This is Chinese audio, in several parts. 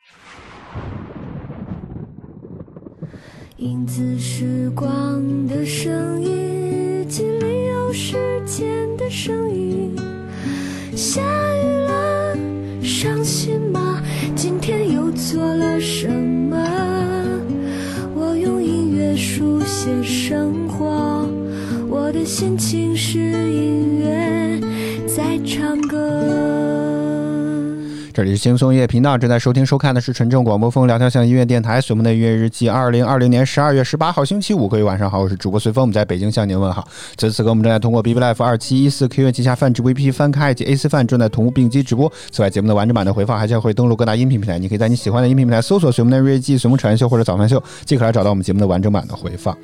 影子时光的声音，日记里有时间的声音。下雨了，伤心吗？今天又做了什么？我用音乐书写生活，我的心情是音乐在唱歌。 这里是轻松音乐频道，正在收听收看的是纯正广播风聊天向音乐电台随梦的音乐日记，2020年12月18号星期五，各位晚上好，我是主播随风，我们在北京向您问好。此时此刻我们正在通过 BBLife 2714 Q 旗下泛直播 APP 翻开以及 AC 泛正在同步并机直播。此外，节目的完整版的回放还将会登录各大音频平台，你可以在你喜欢的音频平台搜索随梦的日记、随梦晨秀或者早饭秀，即可来找到我们节目的完整版的回放。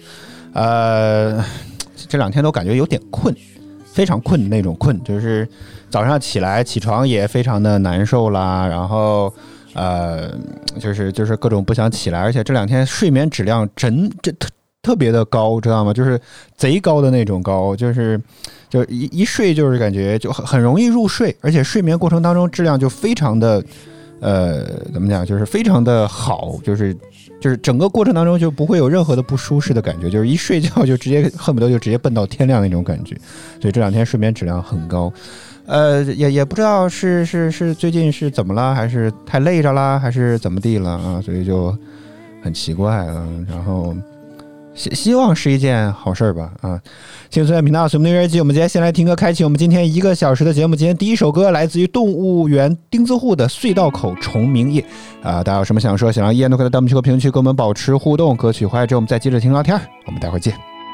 这两天都感觉有点困，非常困的那种困，就是早上起床也非常的难受啦，然后就是各种不想起来，而且这两天睡眠质量特别的高，知道吗？就是贼高的那种高，就一睡就是感觉就很容易入睡，而且睡眠过程当中质量就非常的怎么讲，就是非常的好，就是整个过程当中就不会有任何的不舒适的感觉，就是一睡觉就直接恨不得就直接奔到天亮那种感觉，所以这两天睡眠质量很高。也不知道是最近是怎么了，还是太累着啦，还是怎么地了啊？所以就很奇怪了。然后希望是一件好事吧啊！轻松频道随梦的日记，我们今天先来听歌，开启我们今天1个小时的节目。今天第一首歌来自于动物园钉子户的隧道口虫鸣夜啊！大家有什么想说想让依然都可以在弹幕区和评论区跟我们保持互动。歌曲回来之后我们再接着听聊天，我们待会儿见。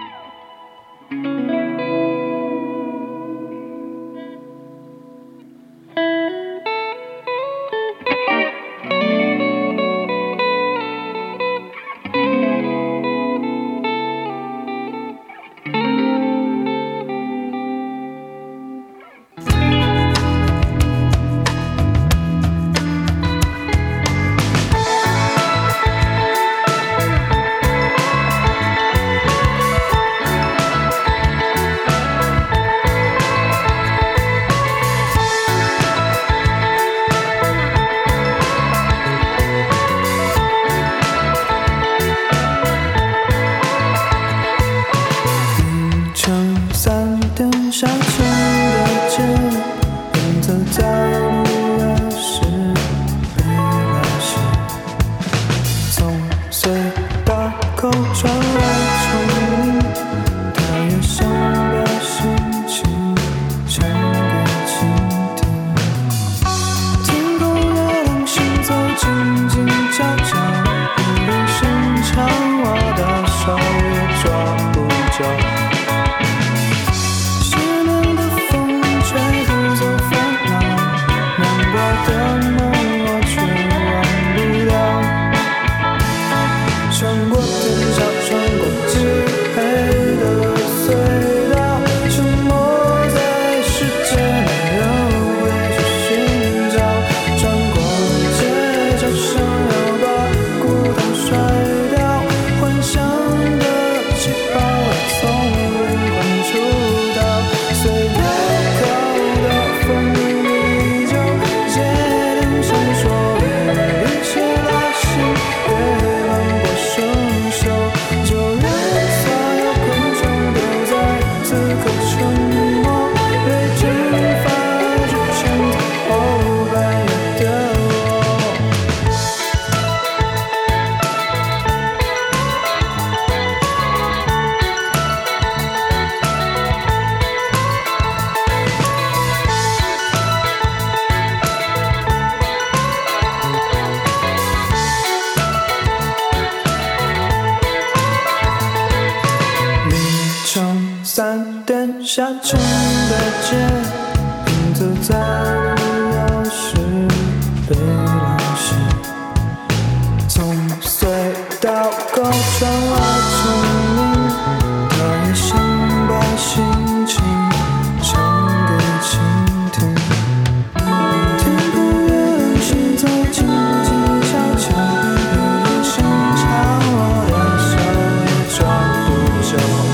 下沉的街，影子在路遥时被浪袭，从隧道口窗外丛林，他也想把心情唱给倾听。天空月亮行走，静静悄悄，有人声唱，我的手也抓不着。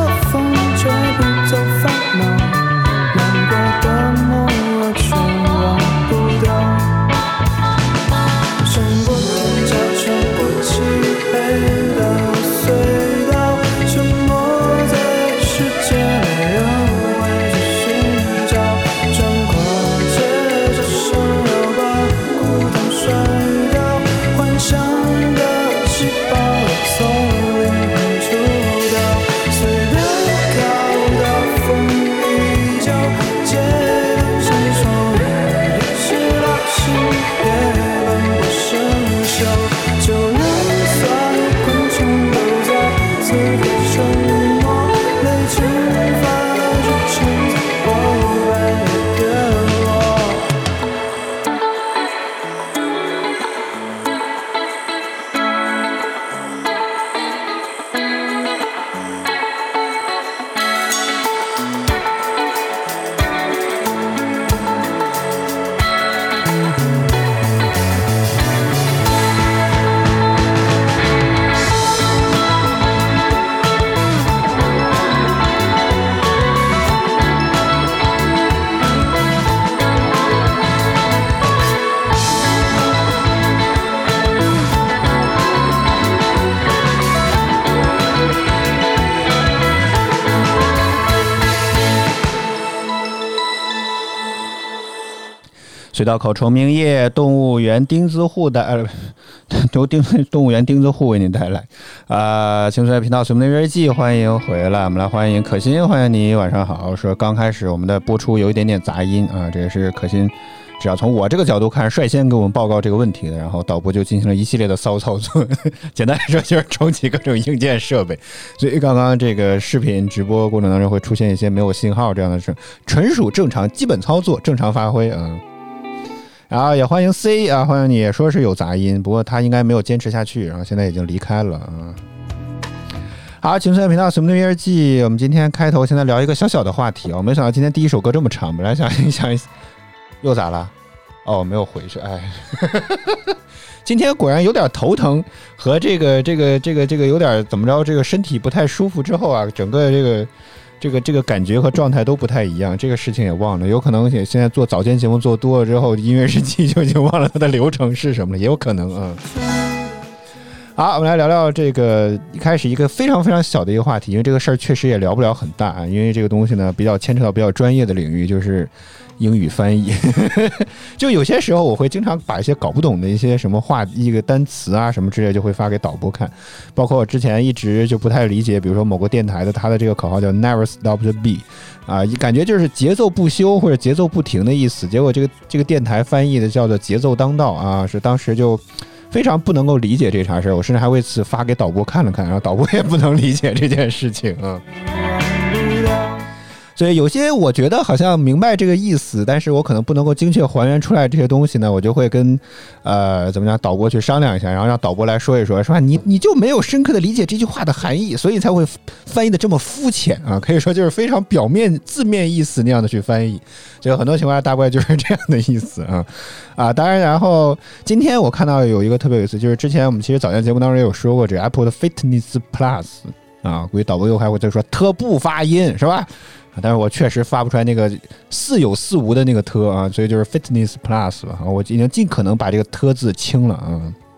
吹不走烦恼，难过的梦我全忘隧道口崇明夜，动物园钉子户的动物园钉子户为您带来青春频道随梦的日记，欢迎回来。我们来欢迎可心，欢迎你，晚上好。说刚开始我们的播出有一点点杂音啊，这也是可心只要从我这个角度看率先给我们报告这个问题的，然后导播就进行了一系列的骚操作简单来说就是重启各种硬件设备，所以刚刚这个视频直播过程当中会出现一些没有信号这样的事，纯属正常基本操作，正常发挥然后也欢迎 C 啊，欢迎你，也说是有杂音，不过他应该没有坚持下去，然后现在已经离开了好，青春频道随梦的日记，我们今天开头现在聊一个小小的话题没想到今天第一首歌这么长，本来想又咋了？没有回去，今天果然有点头疼和这个有点怎么着，这个身体不太舒服之后啊，整个这个感觉和状态都不太一样，这个事情也忘了，有可能现在做早间节目做多了之后，音乐日记就已经忘了它的流程是什么了，也有可能好，我们来聊聊这个一开始一个非常非常小的一个话题，因为这个事儿确实也聊不了很大因为这个东西呢比较牵扯到比较专业的领域，就是英语翻译就有些时候我会经常把一些搞不懂的一些什么话一个单词啊什么之类就会发给导播看，包括我之前一直就不太理解，比如说某个电台的它的这个口号叫 Never Stop the Beat感觉就是节奏不休或者节奏不停的意思，结果这个电台翻译的叫做节奏当道是当时就非常不能够理解这茬事，我甚至还为此发给导播看了看，然后导播也不能理解这件事情所以有些我觉得好像明白这个意思，但是我可能不能够精确还原出来这些东西呢，我就会跟怎么讲导播去商量一下，然后让导播来说一说，说你就没有深刻的理解这句话的含义，所以才会翻译的这么肤浅可以说就是非常表面字面意思那样的去翻译，所以很多情况下大概就是这样的意思当然，然后今天我看到有一个特别有意思，就是之前我们其实早间节目当中也有说过这个 Apple 的 Fitness Plus估计导播又还会再说特不发音是吧？但是我确实发不出来那个似有似无的那个特所以就是 Fitness Plus 吧我已经尽可能把这个特字清了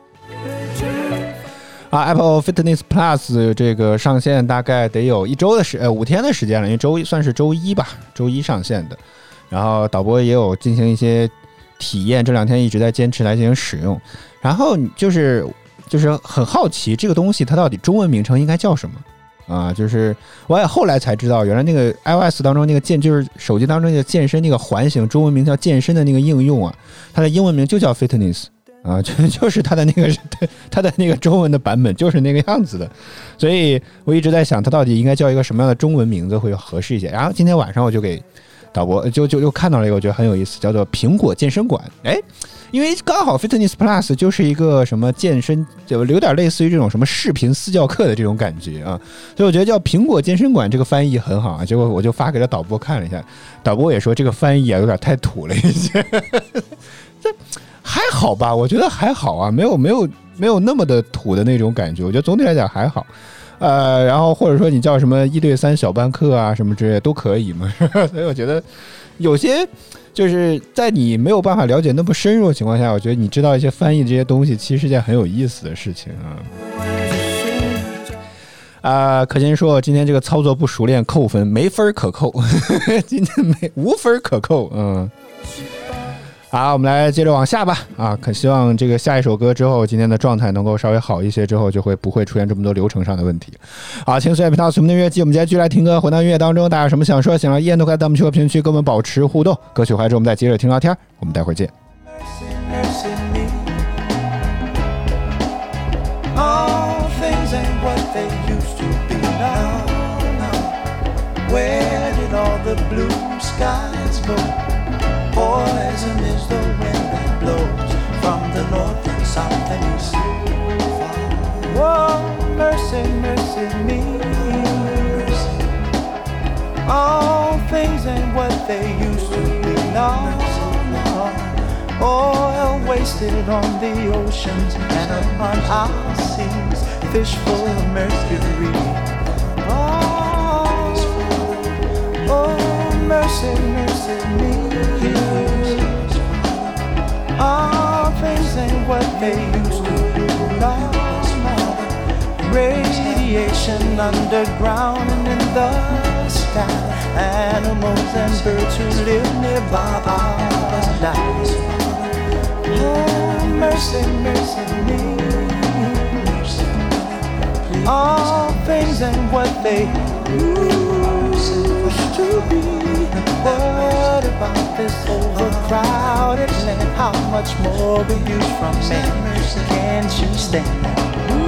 Apple Fitness Plus 这个上线大概得有5天的时间了，因为算是周一吧，周一上线的。然后导播也有进行一些体验，这2天一直在坚持来进行使用。然后就是很好奇这个东西它到底中文名称应该叫什么就是我也后来才知道，原来那个 iOS 当中那个就是手机当中那个健身那个环形中文名叫健身的那个应用它的英文名就叫 Fitness就是它的那个中文的版本就是那个样子的，所以我一直在想它到底应该叫一个什么样的中文名字会合适一些。然后今天晚上我就给导播就看到了一个我觉得很有意思，叫做苹果健身馆因为刚好 Fitness Plus 就是一个什么健身，就有点类似于这种什么视频私教课的这种感觉所以我觉得叫苹果健身馆这个翻译很好结果我就发给了导播看了一下，导播也说这个翻译有点太土了一些这还好吧，我觉得还好没有那么的土的那种感觉，我觉得总体来讲还好然后或者说你叫什么1对3小班课什么之类的都可以嘛所以我觉得有些就是在你没有办法了解那么深入的情况下，我觉得你知道一些翻译这些东西其实是件很有意思的事情可心说今天这个操作不熟练扣分，没分可扣今天无分可扣好，我们来接着往下吧可希望这个下一首歌之后今天的状态能够稍微好一些，之后就会不会出现这么多流程上的问题。好，请随便频道随梦的音乐季，我们今天继续来听歌，回到音乐当中，大家有什么想说想要依然都可以在我们评论区跟我们保持互动，歌曲回来之后我们再接着听聊天，我们待会儿见。 Poison is the wind that blows from the north and south and east. Oh, mercy, mercy me. All things ain't what they used to be. No, no. Oil wasted on the oceans and upon our seas, fish full of mercury. Oh, mercy, mercy me. All things ain't what they used to be. No, no. Radiation underground and in the sky. Animals and birds who live nearby are dying. all things and what they used to be. What about this overcrowded land? How much more will you from me? Can't you stand that?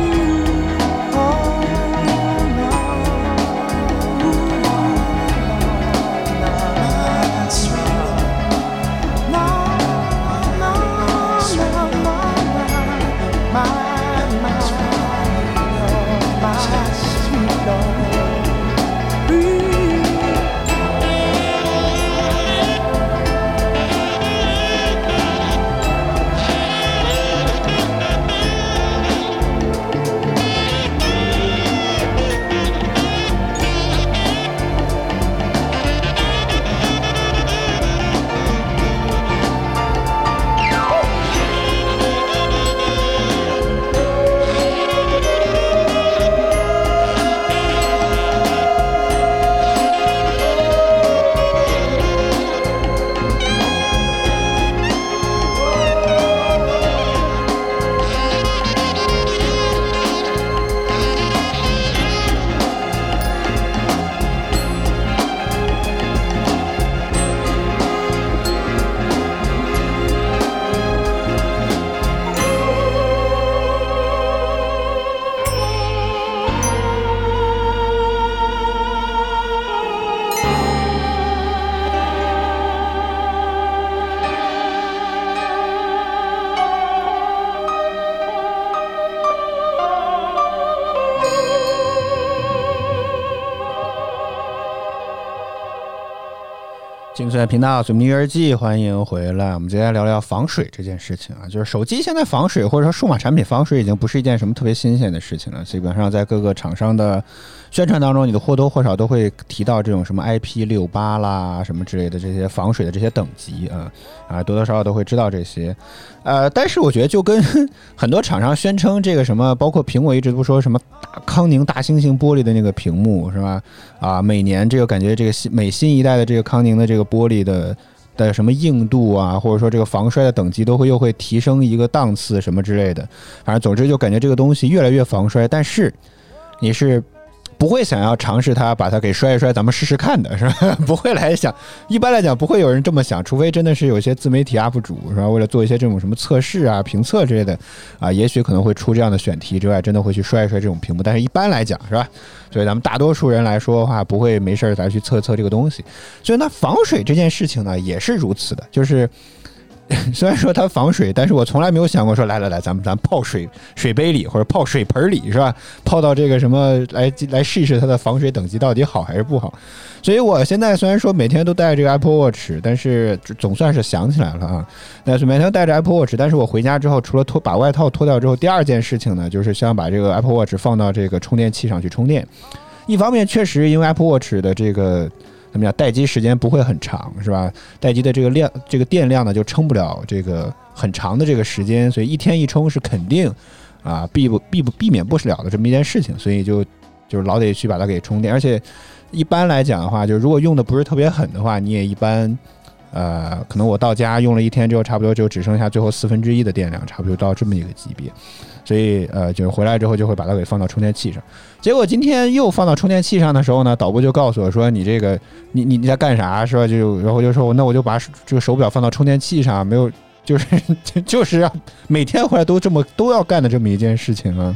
精粹频道随名日记，欢迎回来。我们接下来聊聊防水这件事情啊，就是手机现在防水或者说数码产品防水已经不是一件什么特别新鲜的事情了。基本上在各个厂商的宣传当中，你的或多或少都会提到这种什么 IP68 啦什么之类的这些防水的这些等级多多少少都会知道这些。但是我觉得就跟很多厂商宣称这个什么，包括苹果一直不说什么康宁大猩猩玻璃的那个屏幕是吧？每年这个感觉这个每新一代的这个康宁的这个玻璃的什么硬度啊，或者说这个防摔的等级又会提升一个档次什么之类的。反正总之就感觉这个东西越来越防摔，但是你是不会想要尝试它，把它给摔一摔，咱们试试看的是吧？不会来想，一般来讲不会有人这么想，除非真的是有一些自媒体 UP 主是吧？为了做一些这种什么测试啊、评测之类的也许可能会出这样的选题之外，真的会去摔一摔这种屏幕。但是一般来讲是吧？所以咱们大多数人来说的话，不会没事来去测这个东西。所以那防水这件事情呢，也是如此的，就是虽然说它防水，但是我从来没有想过说来，咱泡水杯里或者泡水盆里是吧？泡到这个什么来试一试它的防水等级到底好还是不好。所以我现在虽然说每天都带这个 Apple Watch， 但是总算是想起来了啊。但是每天带着 Apple Watch， 但是我回家之后，除了把外套脱掉之后，第二件事情呢，就是想把这个 Apple Watch 放到这个充电器上去充电。一方面确实因为 Apple Watch 的这个怎么样，待机时间不会很长是吧？待机的这个电量呢就撑不了这个很长的这个时间，所以一天一充是肯定避免不了的这么一件事情，所以就是老得去把它给充电。而且一般来讲的话，就如果用的不是特别狠的话，你也一般可能我到家用了一天之后，差不多就只剩下最后1/4的电量，差不多到这么一个级别。所以就是回来之后就会把它给放到充电器上。结果今天又放到充电器上的时候呢，导播就告诉我说你这个你在干啥是吧？然后就说那我就把这个手表放到充电器上，没有就是要每天回来都要干的这么一件事情啊。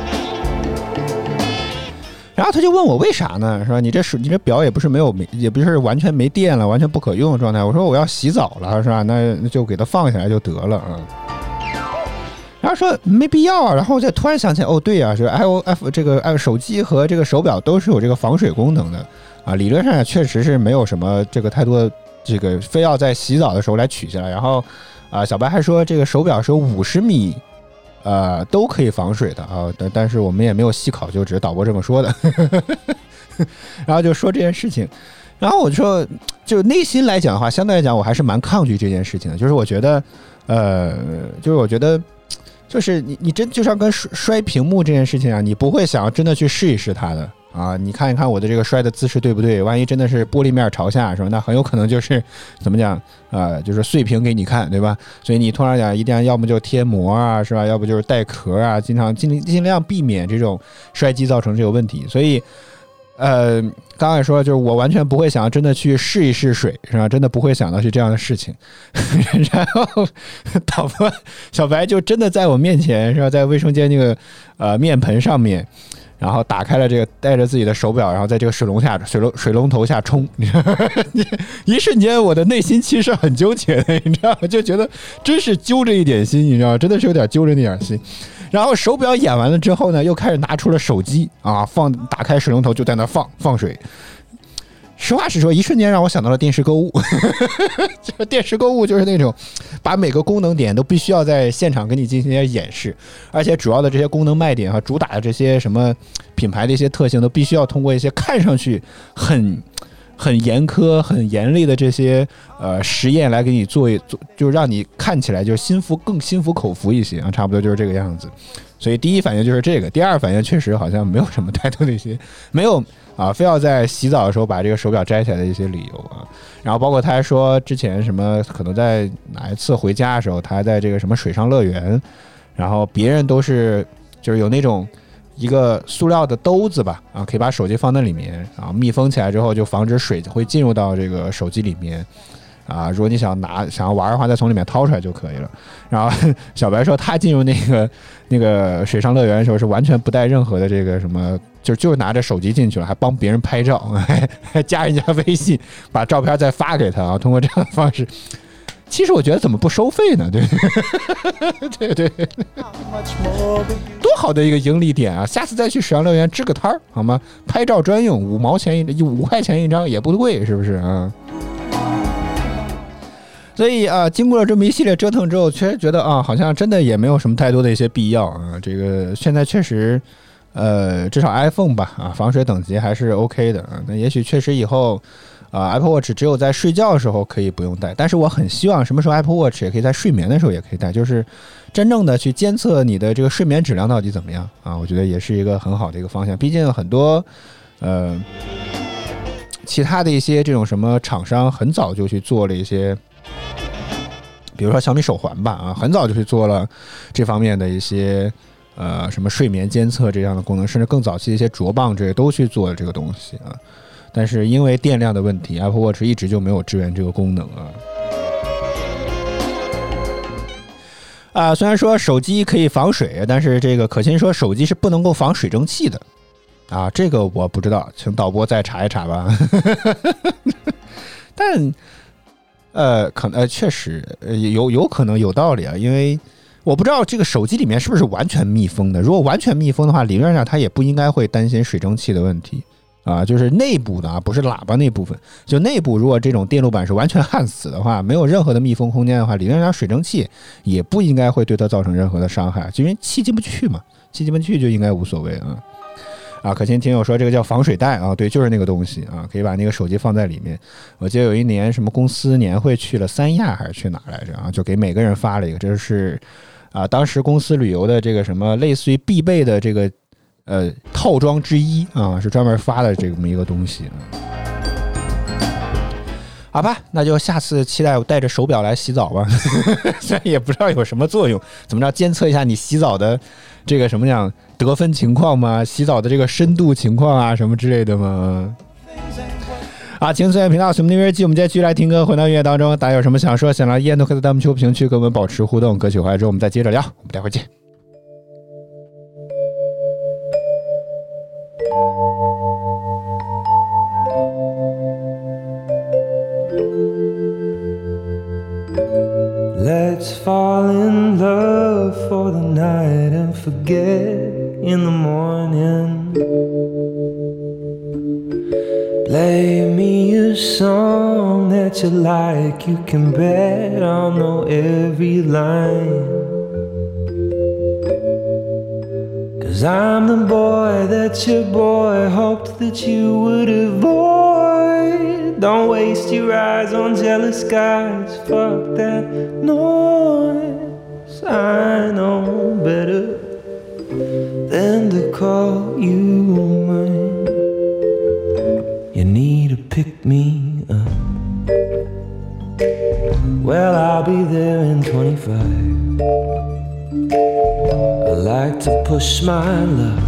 然后他就问我为啥呢？是吧？你这表也不是完全没电了，完全不可用的状态。我说我要洗澡了，是吧？那就给它放下来就得了啊。然后说没必要啊。然后我就突然想起来，对啊，这个 iOS 这个手机和这个手表都是有这个防水功能的啊。理论上也确实是没有什么这个太多这个非要在洗澡的时候来取下来。然后小白还说这个手表是有50米。都可以防水的啊，但是我们也没有细考究，只是导播这么说的。然后就说这件事情，然后我就说，就内心来讲的话，相对来讲我还是蛮抗拒这件事情的。就是我觉得，就是你真就像跟摔屏幕这件事情啊，你不会想要真的去试一试它的啊，你看一看我的这个摔的姿势对不对？万一真的是玻璃面朝下是吧？那很有可能就是怎么讲就是碎屏给你看，对吧？所以你通常讲一定要么就贴膜啊，是吧？要不就是带壳啊，尽量避免这种摔击造成这个问题。所以刚才说就是我完全不会想真的去试一试水，是吧？真的不会想到是这样的事情。然后导播小白就真的在我面前，是吧？在卫生间那个面盆上面。然后打开了这个，带着自己的手表，然后在这个水龙头下冲，一瞬间我的内心其实很纠结的，你知道吗？就觉得真是揪着一点心，你知道吗？真的是有点揪着那点心。然后手表演完了之后呢，又开始拿出了手机啊，打开水龙头就在那放水。实话实说，一瞬间让我想到了电视购物。就电视购物就是那种把每个功能点都必须要在现场给你进行一些演示，而且主要的这些功能卖点和主打的这些什么品牌的一些特性都必须要通过一些看上去很严苛很严厉的这些实验来给你做，就让你看起来就是更心服口服一些啊，差不多就是这个样子。所以第一反应就是这个，第二反应确实好像没有什么太多的一些没有非要在洗澡的时候把这个手表摘下来的一些理由啊。然后包括他还说之前什么可能在哪一次回家的时候，他还在这个什么水上乐园，然后别人都是就是有那种一个塑料的兜子吧啊，可以把手机放在里面，然后密封起来之后就防止水会进入到这个手机里面。如果你想要玩的话，再从里面掏出来就可以了。然后小白说他进入那个水上乐园的时候是完全不带任何的这个什么，就是拿着手机进去了，还帮别人拍照，还加人家微信，把照片再发给他啊。通过这样的方式，其实我觉得怎么不收费呢？对对，多好的一个盈利点啊！下次再去水上乐园支个摊儿好吗？拍照专用，5块钱一张也不贵，是不是啊？所以经过了这么一系列折腾之后，确实觉得好像真的也没有什么太多的一些必要啊。这个现在确实，至少 iPhone 吧防水等级还是 OK 的啊。那也许确实以后Apple Watch 只有在睡觉的时候可以不用带，但是我很希望什么时候 Apple Watch 也可以在睡眠的时候也可以带，就是真正的去监测你的这个睡眠质量到底怎么样啊。我觉得也是一个很好的一个方向，毕竟很多其他的一些这种什么厂商很早就去做了一些。比如说小米手环吧很早就去做了这方面的一些什么睡眠监测这样的功能，甚至更早期的一些镯棒这些都去做了这个东西啊。但是因为电量的问题 ，Apple Watch 一直就没有支援这个功能虽然说手机可以防水，但是这个可心说手机是不能够防水蒸气的这个我不知道，请导播再查一查吧。但确实有可能有道理啊，因为我不知道这个手机里面是不是完全密封的。如果完全密封的话，理论上它也不应该会担心水蒸气的问题就是内部的不是喇叭那部分，就内部如果这种电路板是完全焊死的话，没有任何的密封空间的话，理论上水蒸气也不应该会对它造成任何的伤害，因为气进不去嘛，气进不去就应该无所谓可心听友说这个叫防水袋对，就是那个东西可以把那个手机放在里面。我记得有一年什么公司年会去了三亚还是去哪来着就给每个人发了一个，这是当时公司旅游的这个什么类似于必备的这个套装之一是专门发的这么一个东西好吧，那就下次期待我带着手表来洗澡吧。虽然也不知道有什么作用，怎么着监测一下你洗澡的这个什么样得分情况吗？洗澡的这个深度情况什么之类的吗？请随缘频道随我们那边记，我们接下去来听歌，回到音乐当中。大家有什么想说想聊依然都可以在弹幕评论区跟我们保持互动。歌曲回来之后我们再接着聊，我们待会儿见。 Let's fall in love for the night and forget in the morning. Play me a song that you like, you can bet I'll know every line. 'Cause I'm the boy that your boy hoped that you would avoid. Don't waste your eyes on jealous guys, fuck that noise. I know better than to call you mine. be there in 25. I like to push my luck,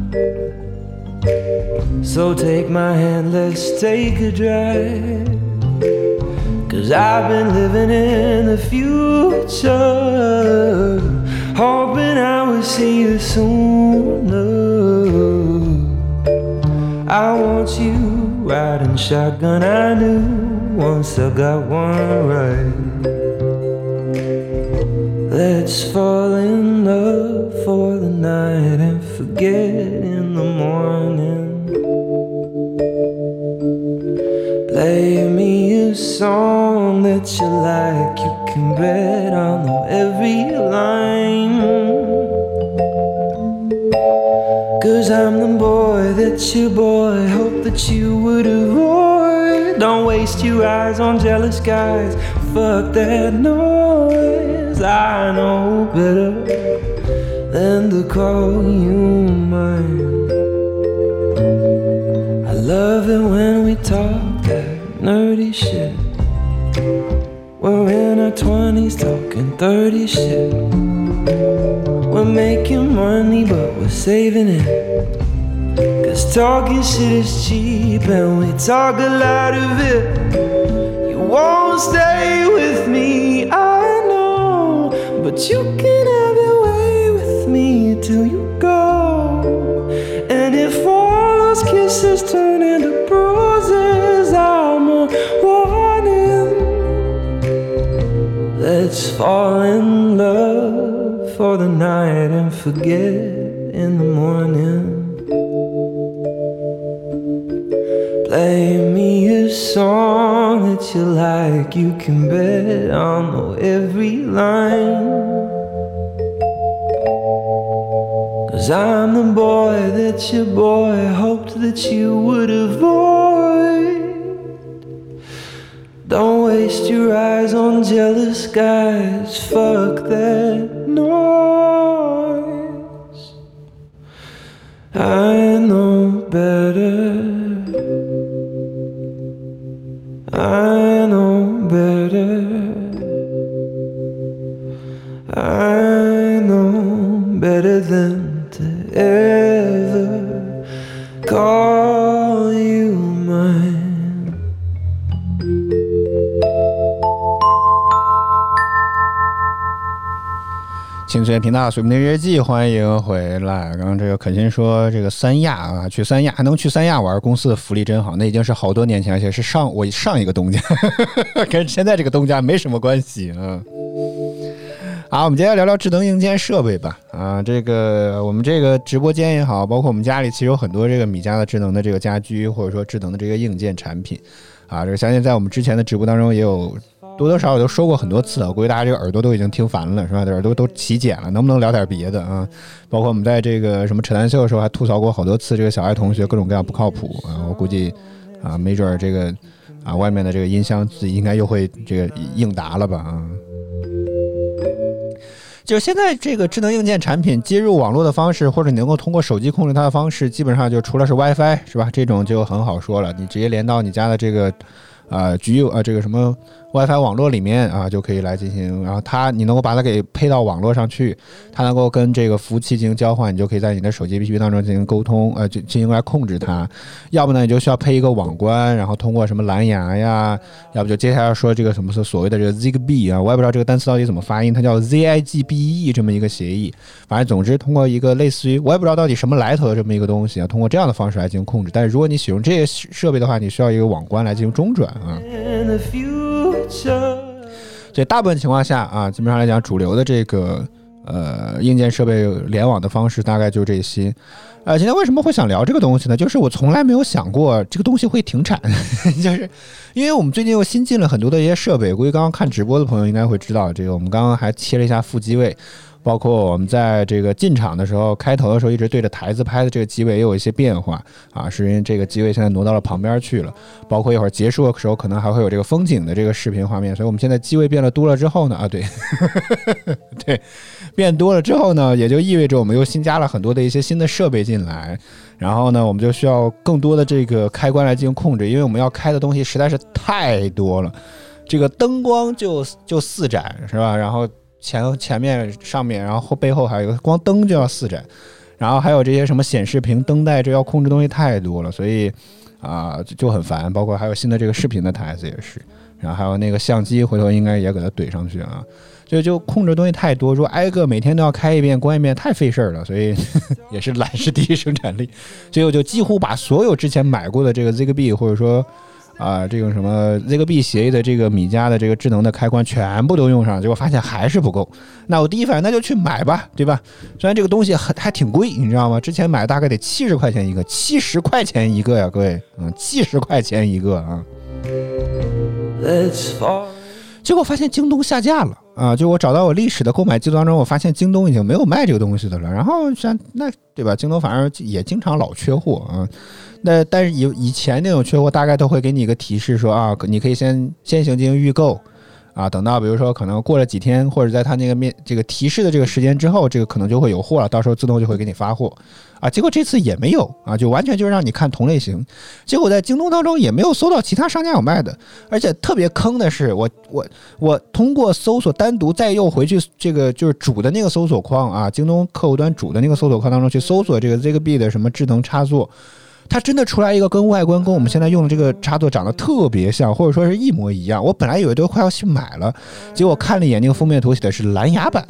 so take my hand, let's take a drive. 'Cause I've been living in the future, hoping I will see you sooner. I want you riding shotgun, I knew once I got one right. Let's fall in love for the night and forget in the morning. Play me a song that you like, you can bet I'll know every line. 'Cause I'm the boy that your boy hoped that you would avoid. Don't waste your eyes on jealous guys, fuck that noise. I know better than to call you mine. I love it when we talk that nerdy shit. We're in our 20s talking 30 shit. We're making money but we're saving it, 'cause talking shit is cheap and we talk a lot of it. You won't stay with me, I know, but you can have your way with me till you go. And if all those kisses turn into bruises, I'm a warning. Let's fall in love for the night and forget in the morning. Play me a song that you like, you can bet I'll know every line. 'Cause I'm the boy that your boy hoped that you would avoid. Don't waste your eyes on jealous guys, fuck that noise. I know better, I know better, I know better than to ever call you mine. 青春频道水木年日记，欢迎回来。刚刚这个肯辛说这个三亚啊，去三亚还能去三亚玩，公司的福利真好。那已经是好多年前，而且是我上一个东家，跟现在这个东家没什么关系啊。好，我们接下来聊聊智能硬件设备吧。啊，这个我们这个直播间也好，包括我们家里其实有很多这个米家的智能的这个家居，或者说智能的这个硬件产品。啊，这个相信在我们之前的直播当中也有多多少少都说过很多次，我估计大家这个耳朵都已经听烦了，是吧？耳朵都起茧了，能不能聊点别的啊？包括我们在这个什么扯淡秀的时候还吐槽过好多次这个小爱同学各种各样不靠谱啊，我估计啊，没准这个啊外面的这个音箱自己应该又会这个应答了吧啊。就现在这个智能硬件产品接入网络的方式，或者你能够通过手机控制它的方式，基本上就除了是 WiFi 是吧？这种就很好说了，你直接连到你家的这个这个什么 WiFi 网络里面啊，就可以来进行，然后你能够把它给配到网络上去，它能够跟这个服务器进行交换，你就可以在你的手机 APP 当中进行沟通，就进行来控制它。要不呢，你就需要配一个网关，然后通过什么蓝牙呀，要不就接下来说这个什么所谓的这个 Zigbee 啊，我也不知道这个单词到底怎么发音，它叫 ZIGBE 这么一个协议。反正总之通过一个类似于我也不知道到底什么来头的这么一个东西啊，通过这样的方式来进行控制。但是如果你使用这些设备的话，你需要一个网关来进行中转啊。所以大部分情况下啊，基本上来讲，主流的这个硬件设备联网的方式大概就这些。今天为什么会想聊这个东西呢？就是我从来没有想过这个东西会停产，就是因为我们最近又新进了很多的一些设备，估计刚刚看直播的朋友应该会知道，这个我们刚刚还切了一下副机位。包括我们在这个进场的时候，开头的时候一直对着台子拍的这个机位也有一些变化啊，是因为这个机位现在挪到了旁边去了。包括一会儿结束的时候，可能还会有这个风景的这个视频画面。所以我们现在机位变了多了之后呢，对，对，变多了之后呢，也就意味着我们又新加了很多的一些新的设备进来。然后呢，我们就需要更多的这个开关来进行控制，因为我们要开的东西实在是太多了。 这个灯光就4盏是吧？然后前面上面，然后背后还有一个光灯就要4盏，然后还有这些什么显示屏、灯带，这要控制东西太多了，所以就很烦。包括还有新的这个视频的台子也是，然后还有那个相机，回头应该也给它怼上去啊。就控制东西太多，说挨个每天都要开一遍关一遍太费事儿了，所以也是懒是第一生产力。所以我就几乎把所有之前买过的这个 Zigbee 或者说这个什么 Zigbee 协议的这个米家的这个智能的开关全部都用上，结果发现还是不够。那我第一反应那就去买吧，对吧？虽然这个东西还挺贵，你知道吗？之前买大概得70块钱一个，70块钱一个呀，各位，70块钱一个啊。结果发现京东下架了就我找到我历史的购买记录当中，我发现京东已经没有卖这个东西的了。然后那对吧？京东反正也经常老缺货啊。那但是以前那种缺货，大概都会给你一个提示说你可以先行进行预购等到比如说可能过了几天，或者在它那个这个提示的这个时间之后，这个可能就会有货了，到时候自动就会给你发货结果这次也没有就完全就是让你看同类型。结果在京东当中也没有搜到其他商家有卖的，而且特别坑的是，我通过搜索单独再又回去这个就是主的那个搜索框京东客户端主的那个搜索框当中去搜索这个 Zigbee 的什么智能插座，它真的出来一个跟外观跟我们现在用的这个插座长得特别像，或者说是一模一样。我本来以为都快要去买了，结果看了一眼那个封面图写的是蓝牙版。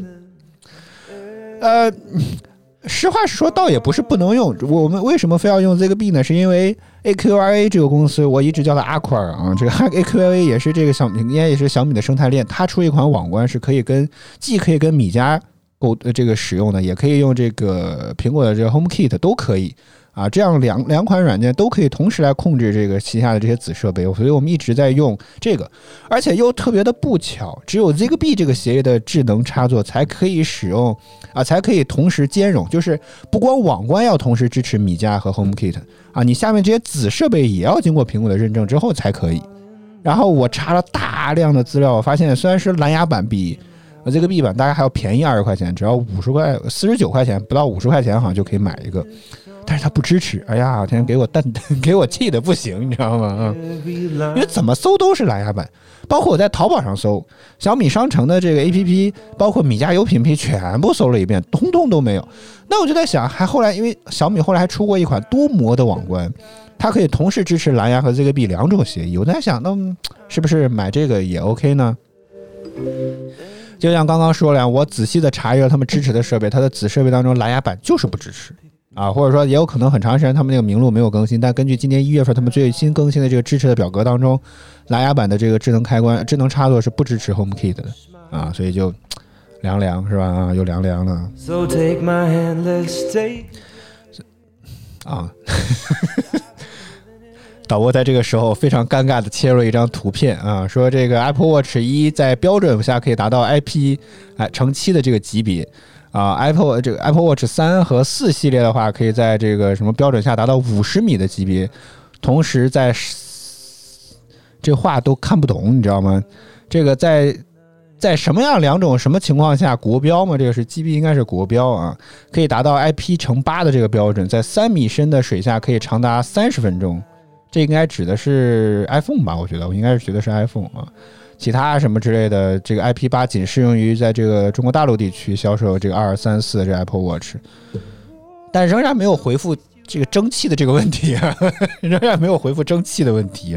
实话实说，倒也不是不能用。我们为什么非要用 Zigbee 呢？是因为 AQRA 这个公司，我一直叫它 Aqua 这个 AQRA 也是这个应该也是小米的生态链。它出一款网关是既可以跟米家这个使用的，也可以用这个苹果的这个 HomeKit 都可以这样两款软件都可以同时来控制这个旗下的这些子设备，所以我们一直在用这个，而且又特别的不巧，只有 Zigbee 这个协议的智能插座才可以使用才可以同时兼容，就是不光网关要同时支持米家和 HomeKit 你下面这些子设备也要经过苹果的认证之后才可以。然后我查了大量的资料，我发现虽然是蓝牙版比Zigbee版大概还要便宜20块钱，只要49块钱，不到50块钱好像就可以买一个。但是它不支持，哎呀，天给我气的不行，你知道吗？因为怎么搜都是蓝牙版，包括我在淘宝上搜小米商城的这个 APP， 包括米家有品批，全部搜了一遍，通通都没有。那我就在想，后来因为小米后来还出过一款多模的网关，它可以同时支持蓝牙和 Zigbee 两种协议。我在想，那是不是买这个也 OK 呢？就像刚刚说了，我仔细的查阅了他们支持的设备，它的子设备当中蓝牙版就是不支持。或者说也有可能很长时间他们那个名录没有更新，但根据今年1月份他们最新更新的这个支持的表格当中，蓝牙版的这个智能开关、智能插座是不支持 HomeKit 的所以就凉是吧？又凉了。So take my hand, let's take 导播在这个时候非常尴尬的切入了一张图片说这个 Apple Watch 1在标准下可以达到 IP 乘7的这个级别。Apple Watch 3和4系列的话，可以在这个什么标准下达到50米的级别，同时这话都看不懂，你知道吗？这个在什么样两种什么情况下国标嘛？这个是 GB 应该是国标可以达到 IP 乘8的这个标准，在3米深的水下可以长达30分钟。这应该指的是 iPhone 吧？我应该是觉得是 iPhone 其他什么之类的，这个 IP8 仅适用于在这个中国大陆地区销售这个2234这 Apple Watch， 但仍然没有回复这个蒸汽的这个问题仍然没有回复蒸汽的问题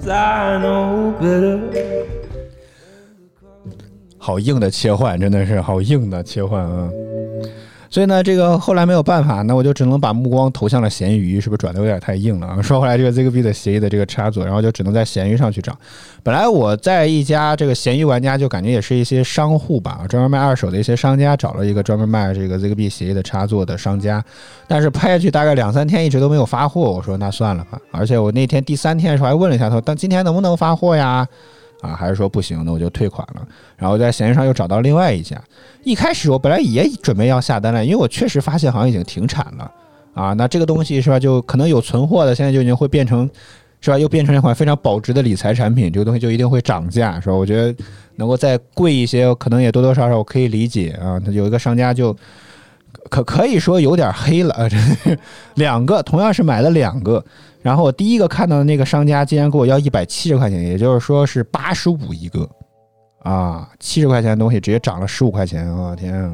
好硬的切换，真的是好硬的切换所以呢，这个后来没有办法，那我就只能把目光投向了闲鱼，是不是转的有点太硬了说回来，这个 Zigbee 的协议的这个插座，然后就只能在闲鱼上去找。本来我在一家这个闲鱼玩家，就感觉也是一些商户吧，专门卖二手的一些商家，找了一个专门卖这个 Zigbee 协议的插座的商家，但是拍下去大概2-3天一直都没有发货。我说那算了吧，而且我那天第3天的时候还问了一下他，但今天能不能发货呀？还是说不行，那我就退款了。然后在闲鱼上又找到另外一家，一开始我本来也准备要下单了，因为我确实发现好像已经停产了那这个东西是吧，就可能有存货的，现在就已经会变成是吧，又变成一款非常保值的理财产品，这个东西就一定会涨价是吧？我觉得能够再贵一些，可能也多多少少我可以理解它有一个商家就可以说有点黑了啊！两个同样是买了两个，然后我第一个看到的那个商家竟然给我要170块钱，也就是说是85一个啊，70块钱的东西直接涨了15块钱啊！天啊！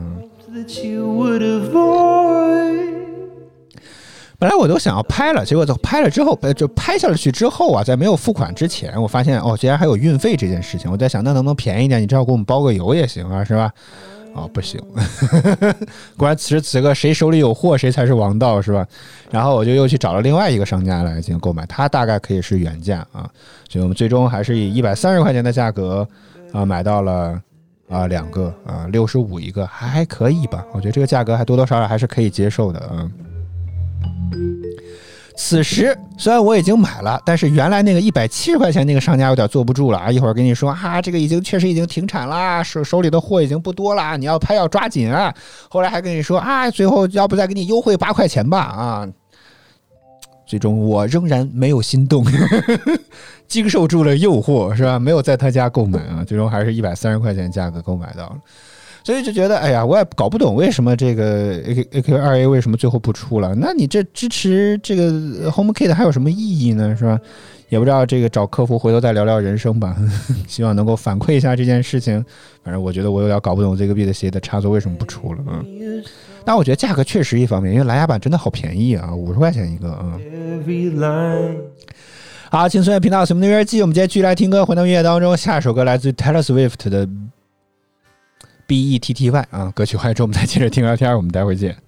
本来我都想要拍了，结果拍了之后，就拍下去之后啊，在没有付款之前，我发现哦，竟然还有运费这件事情。我在想，那能不能便宜一点？你至少给我们包个邮也行啊，是吧？哦，不行，果然此时此刻谁手里有货谁才是王道，是吧？然后我就又去找了另外一个商家来进行购买，他大概可以是原价啊，所以我们最终还是以130块钱的价格啊买到了两个啊65一个，还可以吧？我觉得这个价格还多多少少还是可以接受的啊。此时虽然我已经买了，但是原来那个170块钱那个商家有点坐不住了啊！一会儿跟你说这个确实已经停产啦，手里的货已经不多啦，你要拍要抓紧啊！后来还跟你说最后要不再给你优惠8块钱吧啊！最终我仍然没有心动，经受住了诱惑是吧？没有在他家购买啊，最终还是130块钱价格购买到了。所以就觉得，哎呀，我也搞不懂为什么这个 AQ2A 为什么最后不出了？那你这支持这个 HomeKit 还有什么意义呢？是吧？也不知道这个找客服回头再聊聊人生吧，希望能够反馈一下这件事情。反正我觉得我有点搞不懂这个 Beat 的插座为什么不出了但我觉得价格确实一方面，因为蓝牙版真的好便宜啊，50块钱一个好，轻松乐频道什么音乐季，我们今天继续来听歌，回到音乐当中，下首歌来自 Taylor Swift 的BETTY 啊，歌曲完之后我们再接着听聊天，我们待会见。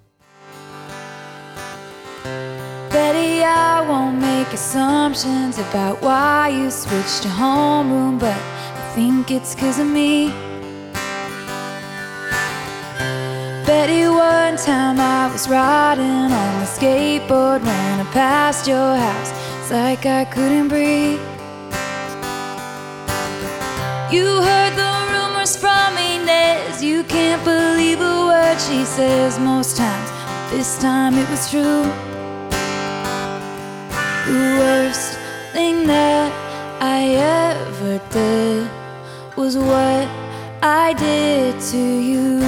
Betty, I won't make assumptions about why you switched to homeroom, but I think it's 'cause of me. Betty, one time I was riding on the skateboard when I passed your house. It's like I couldn't breathe. You heard the rumors from Inez. You can't believe a word she says most times, but this time it was true. The worst thing that I ever did was what I did to you.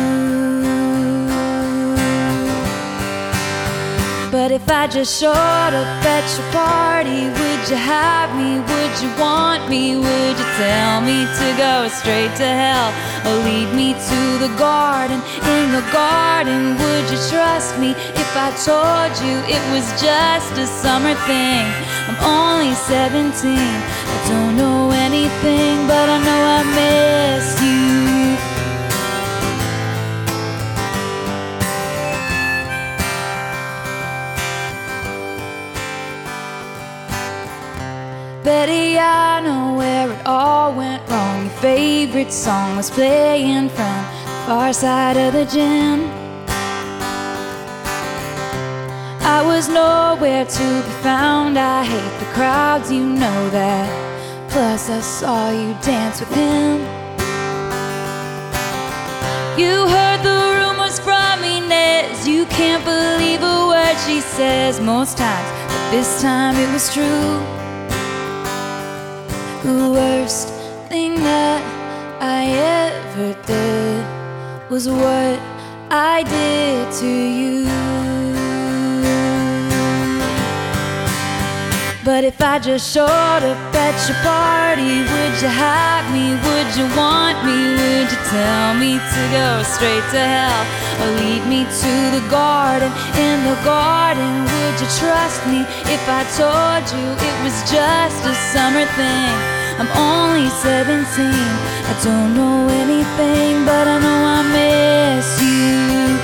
But if I just showed up at your party, would you have me? Would you want me? Would you tell me to go straight to hell? Or lead me to the garden? In the garden, would you trust me if I told you it was just a summer thing? I'm only 17, I don't know anything, but I know I miss you. Betty, I know where it all went wrong. Your favorite song was playing from the far side of the gym. I was nowhere to be found. I hate the crowds, you know that. Plus I saw you dance with him. You heard the rumors from Inez. You can't believe a word she says most times, but this time it was true. The worst thing that I ever did was what I did to you. But if I just showed up at your party, would you have me? Would you want me? Would you tell me to go straight to hell? Or lead me to the garden? In the garden, would you trust me if I told you it was just a summer thing? I'm only 17, I don't know anything, but I know I miss you.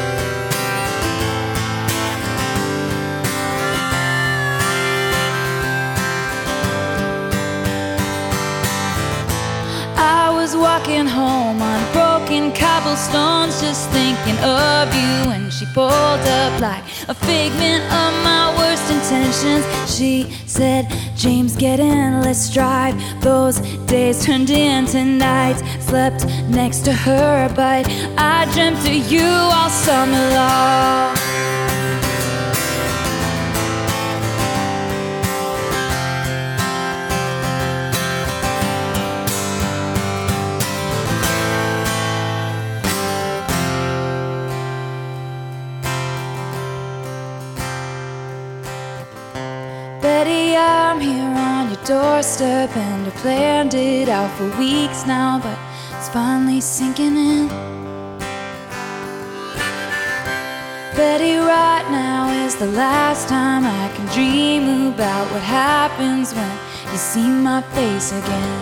I was walking home on broken cobblestones, just thinking of you when she pulled up like a figment of my worst intentions. She said, James, get in, let's drive. Those days turned into nights. Slept next to her, but I dreamt of you all summer long. I'm here on your doorstep and I've planned it out for weeks now, but it's finally sinking in. Betty, right now is the last time I can dream about what happens when you see my face again.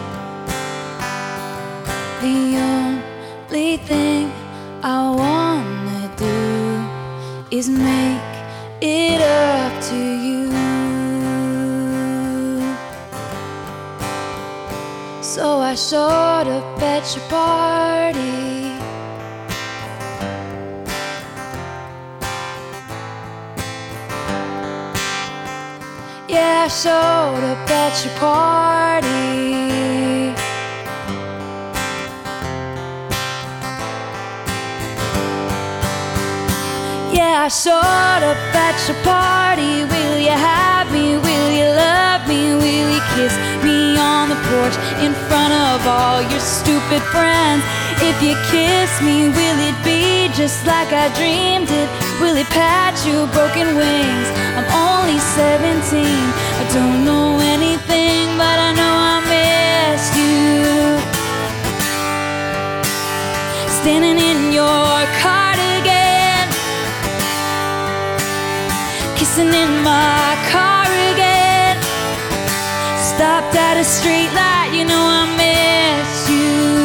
The only thing I wanna do is make it up to you. So I showed up at your party. Yeah, I showed up at your party. Yeah, I showed up at your party. Will you have me? Will you love me? Will you kiss me on the porch in front of all your stupid friends? If you kiss me, will it be just like I dreamed it? Will it patch your broken wings? I'm only 17, I don't know anything, but I know I missed you. Standing in your cardigan, kissing in my car again. Stopped at a street light, you know I miss you.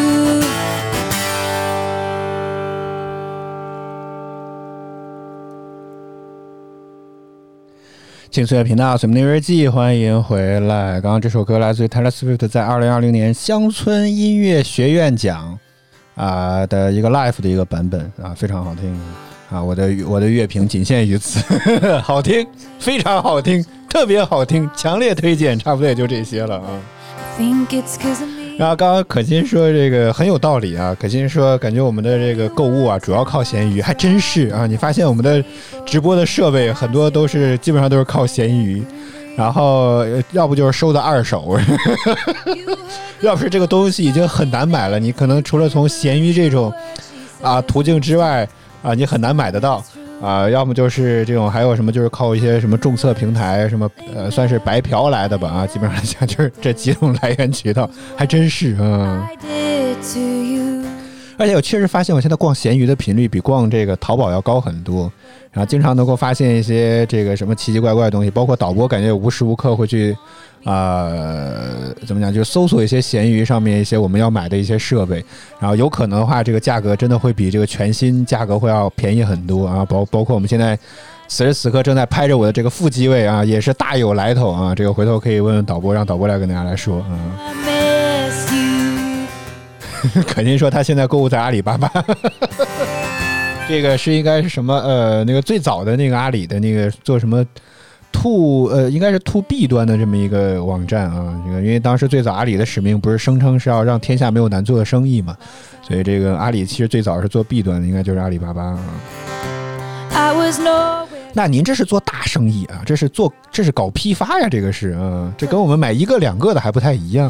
青岁月频道随梦日记，欢迎回来。刚刚这首歌来自于 Taylor Swift 在2020年乡村音乐学院奖的一个 live 的一个版本啊，非常好听啊！我的乐评仅限于此，好听，非常好听，特别好听，强烈推荐，差不多也就这些了啊。然后刚刚可心说这个很有道理啊，可心说感觉我们的这个购物啊主要靠闲鱼，还真是啊！你发现我们的直播的设备很多都是基本上都是靠闲鱼，然后要不就是收的二手，要不是这个东西已经很难买了，你可能除了从闲鱼这种途径之外你很难买得到。要么就是这种，还有什么就是靠一些什么众测平台，什么算是白嫖来的吧基本上像就是这几种来源渠道，还真是而且我确实发现我现在逛闲鱼的频率比逛这个淘宝要高很多，然后经常能够发现一些这个什么奇奇怪怪的东西，包括导播感觉无时无刻会去怎么讲，就是搜索一些闲鱼上面一些我们要买的一些设备，然后有可能的话这个价格真的会比这个全新价格会要便宜很多啊，包括我们现在此时此刻正在拍着我的这个副机位啊，也是大有来头啊，这个回头可以问问导播，让导播来跟大家来说肯定说他现在购物在阿里巴巴这个是应该是什么那个最早的那个阿里的那个做什么应该是 to B 端的这么一个网站啊，这个因为当时最早阿里的使命不是声称是要让天下没有难做的生意嘛，所以这个阿里其实最早是做 B 端的，应该就是阿里巴巴啊。那您这是做大生意啊，这是搞批发呀，这个是这跟我们买一个两个的还不太一样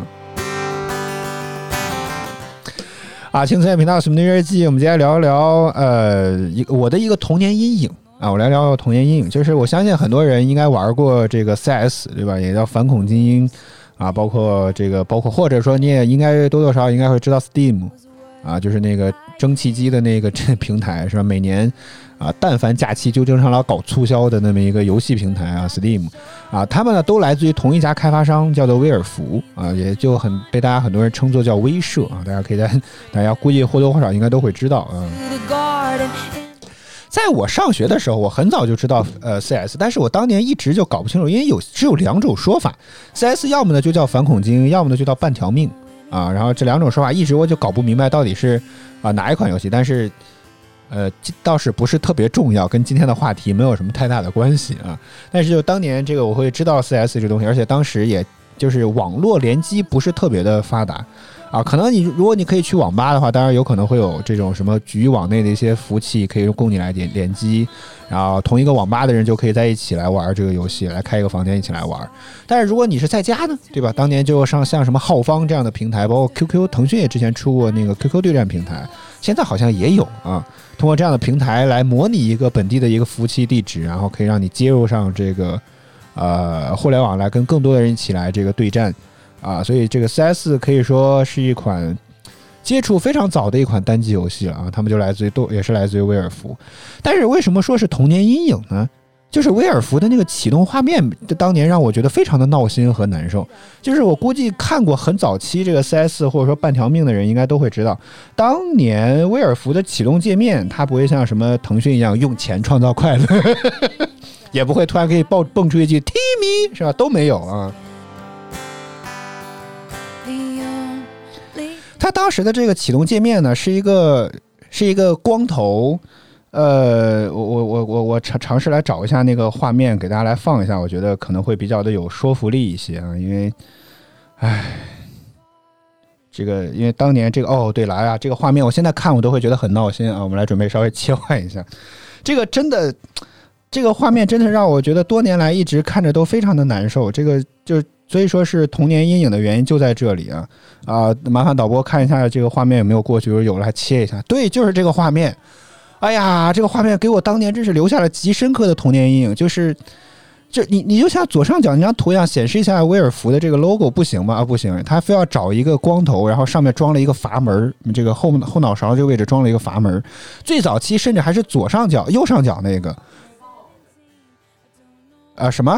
青菜频道什么的日记，我们接下来聊一聊我的一个童年阴影我来聊聊童年阴影，就是我相信很多人应该玩过这个 CS 对吧，也叫反恐精英包括或者说你也应该多多少少应该会知道 Steam 就是那个蒸汽机的那个平台是吧，每年但凡假期就经常老搞促销的那么一个游戏平台Steam 他们呢都来自于同一家开发商，叫做威尔福也就很被大家很多人称作叫威社大家可以大家估计或多或少应该都会知道在我上学的时候，我很早就知道CS， 但是我当年一直就搞不清楚，因为只有两种说法 ，CS 要么呢就叫反恐精英，要么呢就叫半条命然后这两种说法一直我就搞不明白到底是哪一款游戏，但是倒是不是特别重要，跟今天的话题没有什么太大的关系但是就当年这个我会知道 CS 这东西，而且当时也就是网络联机不是特别的发达可能如果你可以去网吧的话，当然有可能会有这种什么局域网内的一些服务器可以供你来联机，然后同一个网吧的人就可以在一起来玩这个游戏，来开一个房间一起来玩。但是如果你是在家呢，对吧？当年就像什么浩方这样的平台，包括 QQ， 腾讯也之前出过那个 QQ 对战平台，现在好像也有通过这样的平台来模拟一个本地的一个服务器地址，然后可以让你接入上这个互联网来跟更多的人一起来这个对战啊，所以这个 CS 可以说是一款接触非常早的一款单机游戏了啊，他们就也是来自于威尔福。但是为什么说是童年阴影呢？就是威尔福的那个启动画面，当年让我觉得非常的闹心和难受。就是我估计看过很早期这个 CS 或者说半条命的人应该都会知道，当年威尔福的启动界面，它不会像什么腾讯一样用钱创造快乐，也不会突然可以蹦出一句 Timmy 是吧？都没有啊。它当时的这个启动界面呢，是一个光头。我尝试来找一下那个画面给大家来放一下，我觉得可能会比较的有说服力一些啊，因为因为当年这个对了呀，这个画面我现在看我都会觉得很闹心啊，我们来准备稍微切换一下，这个画面真的让我觉得多年来一直看着都非常的难受，这个所以说是童年阴影的原因就在这里啊，麻烦导播看一下这个画面有没有过去，有了还切一下，对，就是这个画面。哎呀，这个画面给我当年真是留下了极深刻的童年阴影，就是你就像左上角那张图一样显示一下威尔福的这个 logo 不行吗？不行，他非要找一个光头，然后上面装了一个阀门，这个后脑勺这个位置装了一个阀门，最早期甚至还是右上角那个什么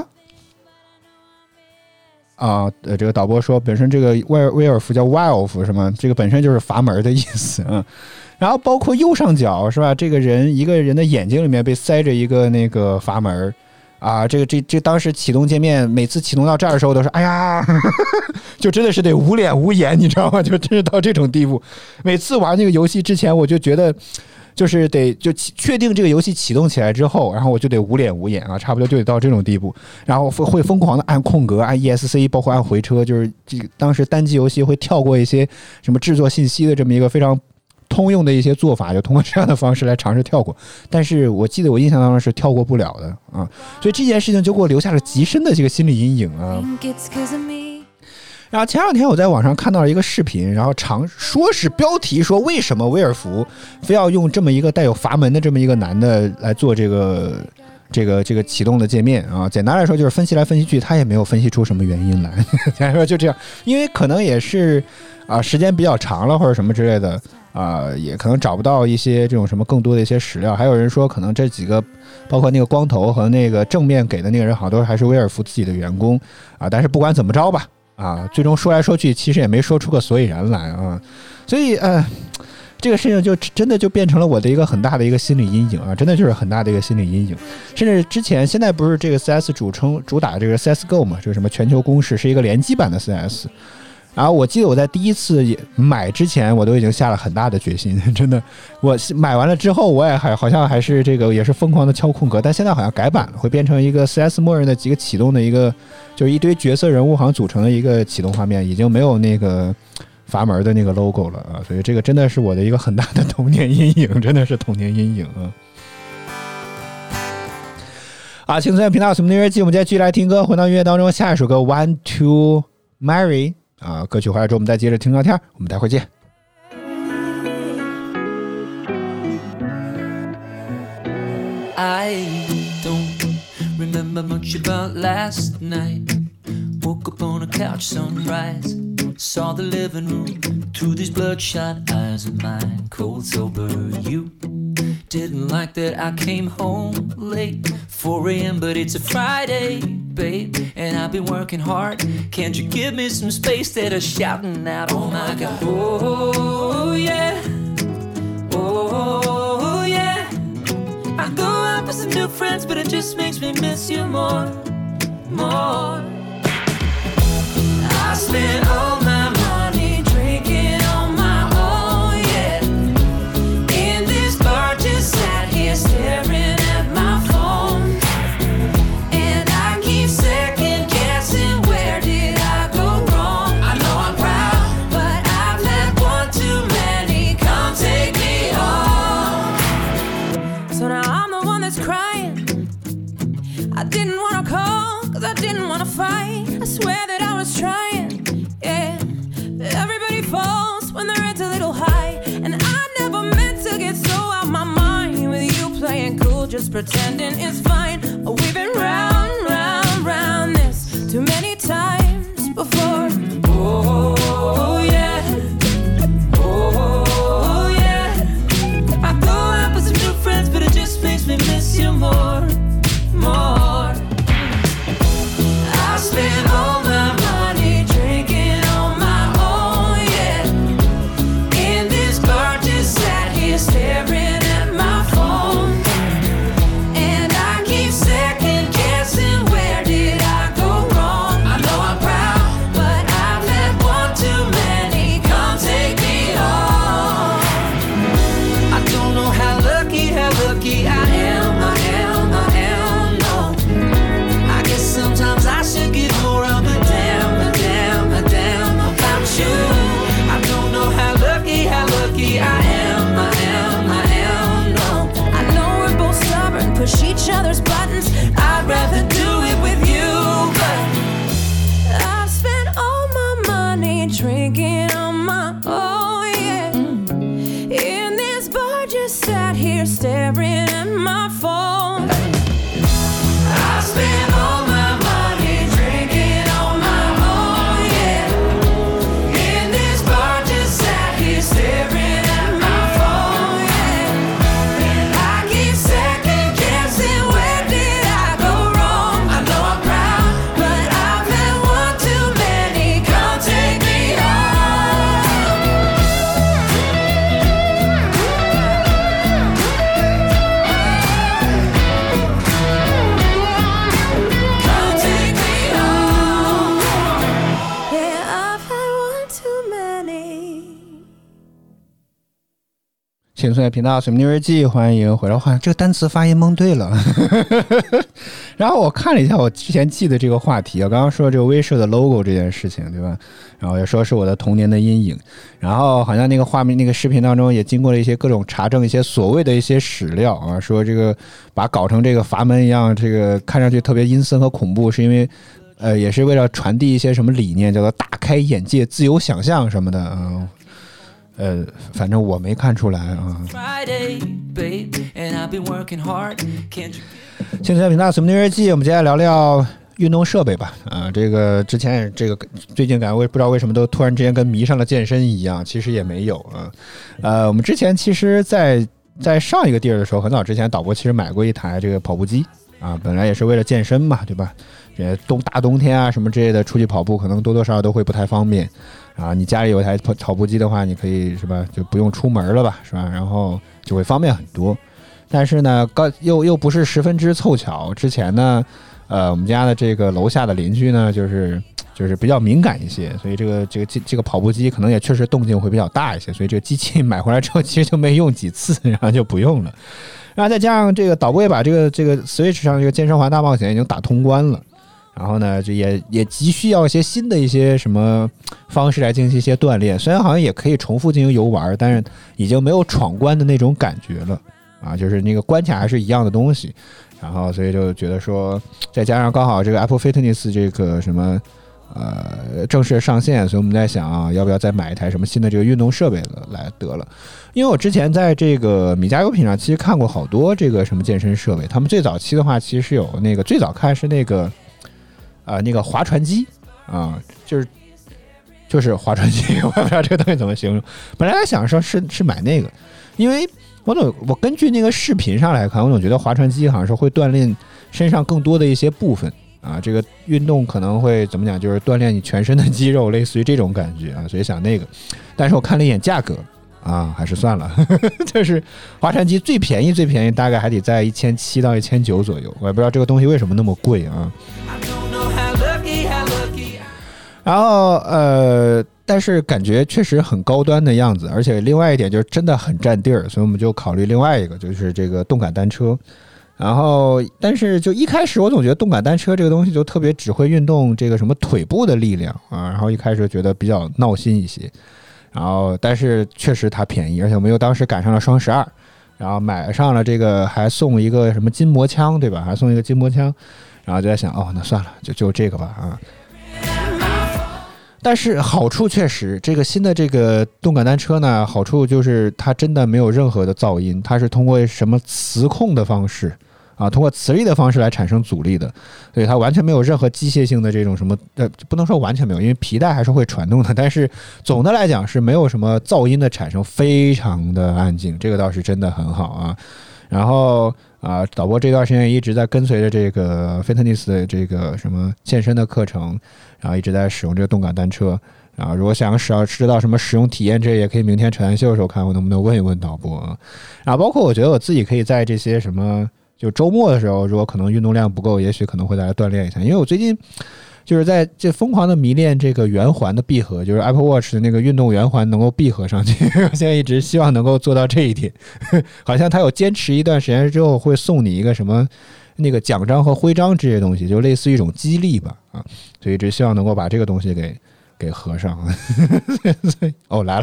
这个导播说本身这个威尔福叫 Wolf 是吗？这个本身就是阀门的意思啊。然后包括右上角是吧？一个人的眼睛里面被塞着一个那个阀门啊，这当时启动界面每次启动到这儿的时候都是哎呀，就真的是得无脸无眼，你知道吗？就真是到这种地步。每次玩那个游戏之前，我就觉得就是就确定这个游戏启动起来之后，然后我就得无脸无眼啊，差不多就得到这种地步，然后会疯狂的按空格、按 ESC， 包括按回车，就是当时单机游戏会跳过一些什么制作信息的这么一个非常通用的一些做法，就通过这样的方式来尝试跳过，但是我记得我印象当中是跳过不了的啊，所以这件事情就给我留下了极深的这个心理阴影啊。然后前两天我在网上看到了一个视频，然后说是标题说为什么威尔福非要用这么一个带有阀门的这么一个男的来做这个启动的界面啊，简单来说就是分析来分析去，他也没有分析出什么原因来，简单说就这样，因为可能也是时间比较长了或者什么之类的也可能找不到一些这种什么更多的一些史料，还有人说可能这几个包括那个光头和那个正面给的那个人好像都还是威尔福自己的员工但是不管怎么着吧最终说来说去其实也没说出个所以然来所以这个事情就真的就变成了我的一个很大的一个心理阴影真的就是很大的一个心理阴影。甚至现在不是这个 CS 主打这个 CSGO 嘛，这个什么全球公式是一个联机版的 CS， 然后我记得我在第一次买之前我都已经下了很大的决心，真的，我买完了之后我也好像还是这个也是疯狂的敲空格，但现在好像改版了，会变成一个 CS 默认的几个启动的一个就是一堆角色人物好像组成的一个启动画面，已经没有那个阀门的那个 logo 了所以这个真的是我的一个很大的童年阴影，真的是童年阴影轻松频道什么音乐季，我们接着继续来听歌，回到音乐当中，下一首歌 Want to Marry歌曲回来之后我们再接着听聊天，我们待会儿见。 I don't remember much about last night. Woke up on a couch, sunrise. Saw the living room through these bloodshot eyes of mine. Cold sober, you didn't like that I came home late, 4 a.m. but it's a Friday, babe, and I've been working hard. Can't you give me some space? That are shouting out, oh my God, oh yeah, oh yeah. I go out with some new friends, but it just makes me miss you more. I spent all my money drinking on my own, yeah. In this bar, just sat here staring at my phone, and I keep second guessing, where did I go wrong? I know I'm proud, but I've had one too many. Come take me home. So now I'm the one that's crying. I didn't want to call, cause I didn't want to fight. I swear that I was trying, yeah. Everybody falls when their head's a little high, and I never meant to get so out my mind with you playing cool, just pretending it's fine. We've been round, round, round. here staring at my phone. I spent all my money drinking on my own, yeah. In this bar, just sat here staring at my phone, yeah. And I keep second guessing, where did I go wrong? I know I'm proud, but I've had one too many. Come take me home. Come take me home. Yeah, I've had one too many. 青春频道水木日记，欢迎回来。这个单词发音蒙对了。然后我看了一下我之前记的这个话题，我刚刚说这个威社的 logo 这件事情，对吧？然后也说是我的童年的阴影。然后好像那个画面、那个视频当中也经过了一些各种查证，一些所谓的一些史料啊，说这个把搞成这个阀门一样，这个看上去特别阴森和恐怖，是因为也是为了传递一些什么理念，叫做大开眼界、自由想象什么的啊。反正我没看出来啊。 Friday, babe, and I've been working hard. Can't you? 青春频道水木日记，我们接下来聊聊运动设备吧。这个之前也这个最近感觉我也不知道为什么都突然之间跟迷上了健身一样，其实也没有啊。我们之前其实在上一个地儿的时候，很早之前导播其实买过一台这个跑步机啊，本来也是为了健身嘛，对吧？大冬天啊什么之类的出去跑步，可能多多少少都会不太方便啊。你家里有一台跑步机的话，你可以是吧，就不用出门了吧，是吧？然后就会方便很多。但是呢，又不是十分之凑巧。之前呢，我们家的这个楼下的邻居呢，就是比较敏感一些，所以这个跑步机可能也确实动静会比较大一些，所以这个机器买回来之后，其实就没用几次，然后就不用了。然后再加上这个导播也把这个 Switch 上这个健身环大冒险已经打通关了。然后呢，这也急需要一些新的一些什么方式来进行一些锻炼。虽然好像也可以重复进行游玩，但是已经没有闯关的那种感觉了啊，就是那个关卡还是一样的东西。然后所以就觉得说，再加上刚好这个 Apple Fitness 这个什么正式上线，所以我们在想啊，要不要再买一台什么新的这个运动设备来得了。因为我之前在这个米家优品上其实看过好多这个什么健身设备，他们最早期的话其实有那个最早看是那个划船机啊，就是划船机，我也不知道这个东西怎么形容。本来在想说是买那个，因为我根据那个视频上来看，我总觉得划船机好像是会锻炼身上更多的一些部分啊，这个运动可能会怎么讲，就是锻炼你全身的肌肉，类似于这种感觉啊，所以想那个。但是我看了一眼价格啊，还是算了，就是划船机最便宜大概还得在1700到1900左右，我也不知道这个东西为什么那么贵啊。然后但是感觉确实很高端的样子，而且另外一点就是真的很占地儿，所以我们就考虑另外一个，就是这个动感单车。然后但是就一开始我总觉得动感单车这个东西就特别只会运动这个什么腿部的力量啊，然后一开始觉得比较闹心一些。然后但是确实它便宜，而且我们又当时赶上了双12，然后买上了这个还送一个什么筋膜枪，对吧？还送一个筋膜枪，然后就在想那算了，就这个吧啊。但是好处确实，这个新的这个动感单车呢，好处就是它真的没有任何的噪音，它是通过什么磁控的方式啊，通过磁力的方式来产生阻力的，所以它完全没有任何机械性的这种什么不能说完全没有，因为皮带还是会传动的，但是总的来讲是没有什么噪音的产生，非常的安静，这个倒是真的很好啊。然后导播这段时间一直在跟随着这个 Fitness 的这个什么健身的课程，然后一直在使用这个动感单车。然后如果想知道什么使用体验，这也可以明天扯淡秀的时候看我能不能问一问导播啊。然后包括我觉得我自己可以在这些什么就周末的时候，如果可能运动量不够，也许可能会再来锻炼一下，因为我最近就是在这疯狂的迷恋这个圆环的闭合，就是 Apple Watch 的那个运动圆环能够闭合上去。我现在一直希望能够做到这一点，好像它有坚持一段时间之后会送你一个什么那个奖章和徽章这些东西，就类似于一种激励吧啊，所以一直希望能够把这个东西给合上。来了。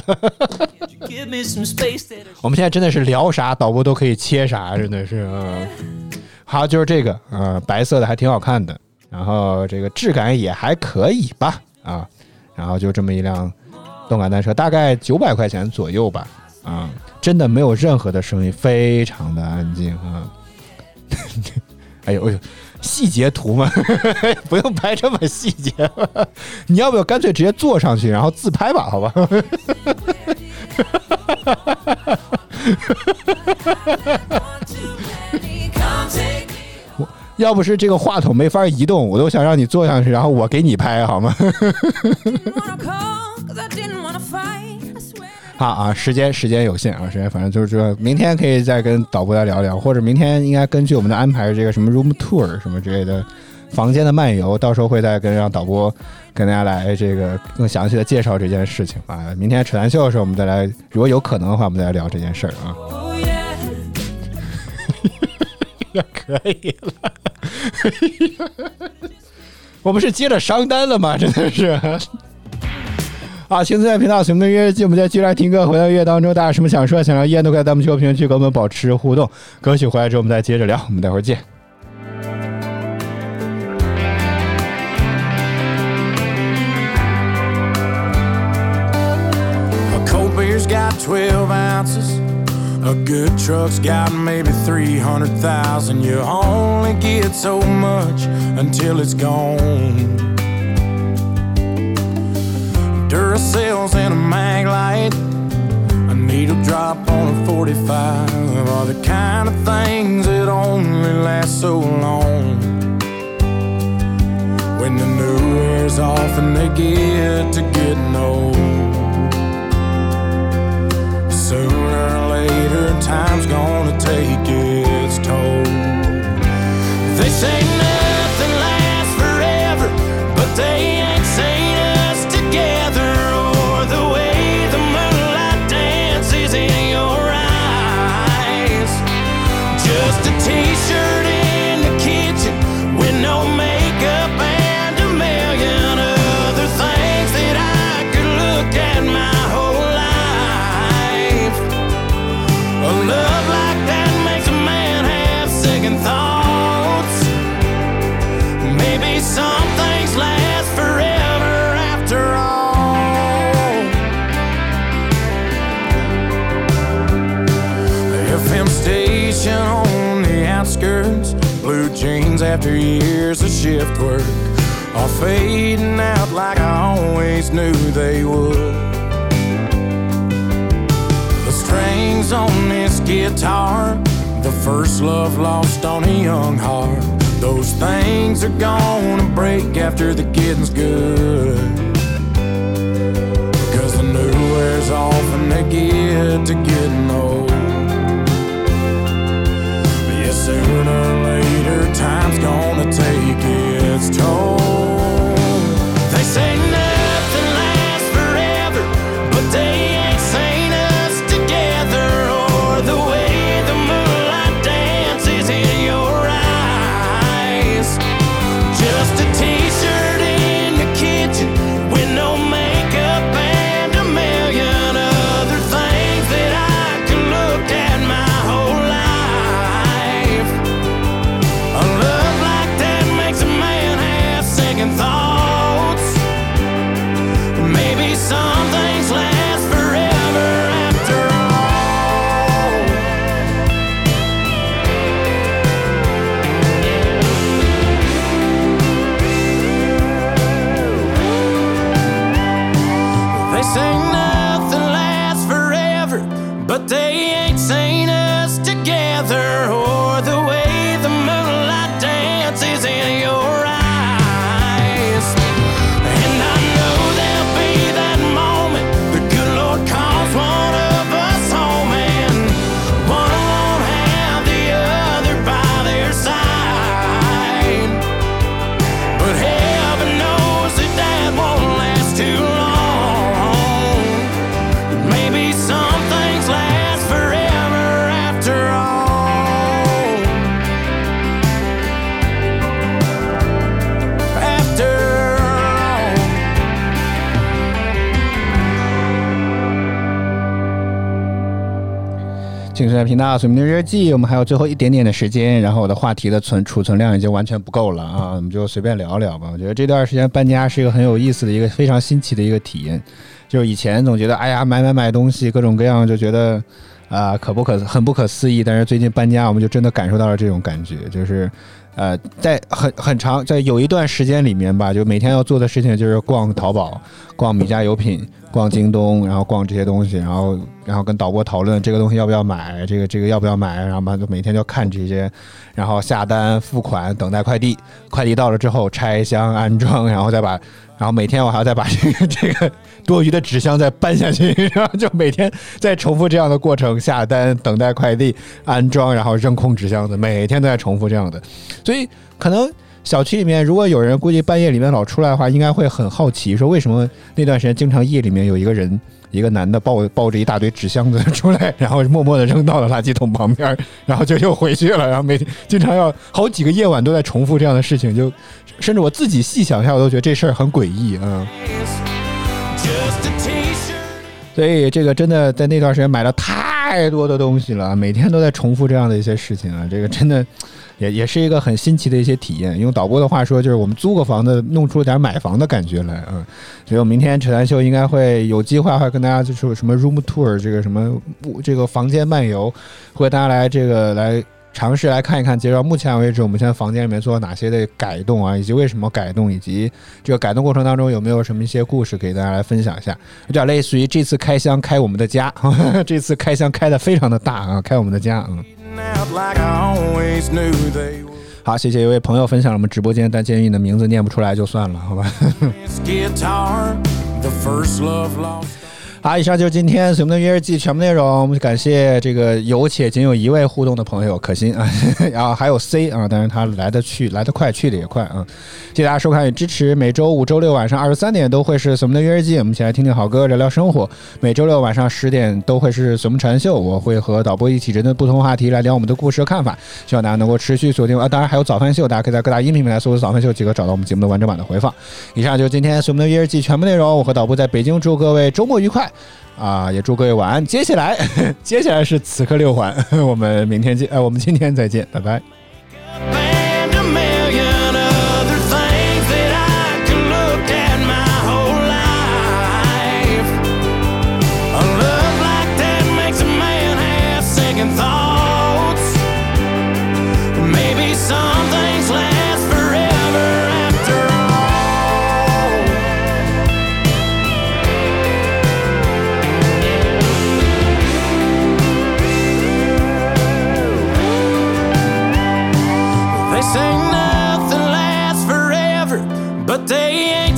我们现在真的是聊啥导播都可以切啥，真的是好，就是这个白色的还挺好看的，然后这个质感也还可以吧然后就这么一辆动感单车，大概900块钱左右吧真的没有任何的声音，非常的安静啊。哎呦，细节图嘛，不用拍这么细节吧？你要不要干脆直接坐上去，然后自拍吧？好吧。要不是这个话筒没法移动，我都想让你坐上去，然后我给你拍，好吗？好啊，时间有限啊，反正就是说明天可以再跟导播来聊聊，或者明天应该根据我们的安排，这个什么 room tour 什么之类的房间的漫游，到时候会再让导播跟大家来这个更详细的介绍这件事情啊。明天扯淡秀的时候，我们再来，如果有可能的话，我们再来聊这件事儿啊。可以了。我们是接着商单了吗？真的是啊！青春频道随我们的乐日记，我们再继续来听歌。回到乐当中，大家有什么想说想聊，依然都可以在弹幕区和评论区跟我们保持互动。歌曲回来之后，我们再接着聊。我们待会儿见。 A cold beer's got 12 ounces. A good truck's got maybe 300,000. You only get so much until it's gone. Duracells and a mag light, a needle drop on a 45 are the kind of things that only last so long. When the new wears off and they get to getting old, sooner or later time's gonna take its toll. They say nothing lasts forever, but they ain't seen us together, or the way the moonlight dances in your eyes. Just a t-shirt in the kitchen with no makeup and a million other things that I could look at my whole life. A love like that makes a man have second thoughts. Maybe some things last forever after all. The FM station on the outskirts, blue jeans after years of shift work are fading out like I always knew they would. The strings on this guitar, the first love lost on a young heart, those things are gonna break after the getting's good. Because the new wears off and they get to getting old. But yeah, sooner or later time's gonna take its toll. They say nothing lasts forever, but they ain't seen us together, or the way the moonlight dances in your eyes. Just a t-shirt in the kitchen with no makeup and a million other things that I could look at my whole life. A love like that makes a man have second thoughts. Maybe some things last forever after all. They say nothing lasts forever, but they ain't seen us together, or the way the moonlight dances in your eyes. And I know there'll be that moment the good Lord calls one of us home, and one won't have the other by their side. But heaven knows that that won't last too long. Maybe some things last forever after all. After all. 青春频道随我们的日记，我们还有最后一点点的时间，然后我的话题的储存量已经完全不够了啊，我们就随便聊聊吧。我觉得这段时间搬家是一个很有意思的一个非常新奇的一个体验，就是以前总觉得哎呀买东西各种各样，就觉得很不可思议。但是最近搬家，我们就真的感受到了这种感觉，就是在很长，在有一段时间里面吧，就每天要做的事情就是逛淘宝、逛米家优品、逛京东，然后逛这些东西，然后跟导播讨论这个东西要不要买，这个要不要买，然后嘛就每天就看这些，然后下单、付款、等待快递，快递到了之后拆箱安装，然后每天我还要再把这个多余的纸箱再搬下去，然后就每天在重复这样的过程，下单、等待快递、安装，然后扔空纸箱子，每天都在重复这样的。所以可能小区里面如果有人估计半夜里面老出来的话，应该会很好奇，说为什么那段时间经常夜里面有一个男的抱着一大堆纸箱子出来，然后默默的扔到了垃圾桶旁边，然后就又回去了，然后每天经常要好几个夜晚都在重复这样的事情，就甚至我自己细想一下，我都觉得这事儿很诡异啊。所以这个真的在那段时间买了太多的东西了，每天都在重复这样的一些事情啊，这个真的也是一个很新奇的一些体验。用导播的话说，就是我们租个房子弄出了点买房的感觉来啊。所以我明天扯淡秀应该会有机会会跟大家就是什么 room tour 这个什么这个房间漫游，会大家来尝试来看一看，截至目前为止我们现在房间里面做了哪些的改动啊，以及为什么改动，以及这个改动过程当中有没有什么一些故事给大家来分享一下。有点类似于这次开箱开我们的家，这次开箱开的非常的大啊，开我们的家。好，谢谢一位朋友分享了我们直播间，但鉴于你的名字念不出来就算了，好吧。好，以上就是今天随梦的约日记全部内容。我们感谢这个有且仅有一位互动的朋友可心啊，然后还有 C 啊，但是他来得快，去得也快啊。谢谢大家收看与支持，每周5、周6晚上23点都会是随梦的约日记，我们一起来听听好歌，聊聊生活。每周6晚上10点都会是随梦禅秀，我会和导播一起针对不同话题来聊我们的故事和看法，希望大家能够持续锁定啊。当然还有早饭秀，大家可以在各大音频平台搜索早饭秀即可找到我们节目的完整版的回放。以上就是今天随梦的约日记全部内容，我和导播在北京祝各位周末愉快啊，也祝各位晚安。接下来是此刻6环，我们明天见，我们今天再见，拜拜。 Say nothing lasts forever, but they ain't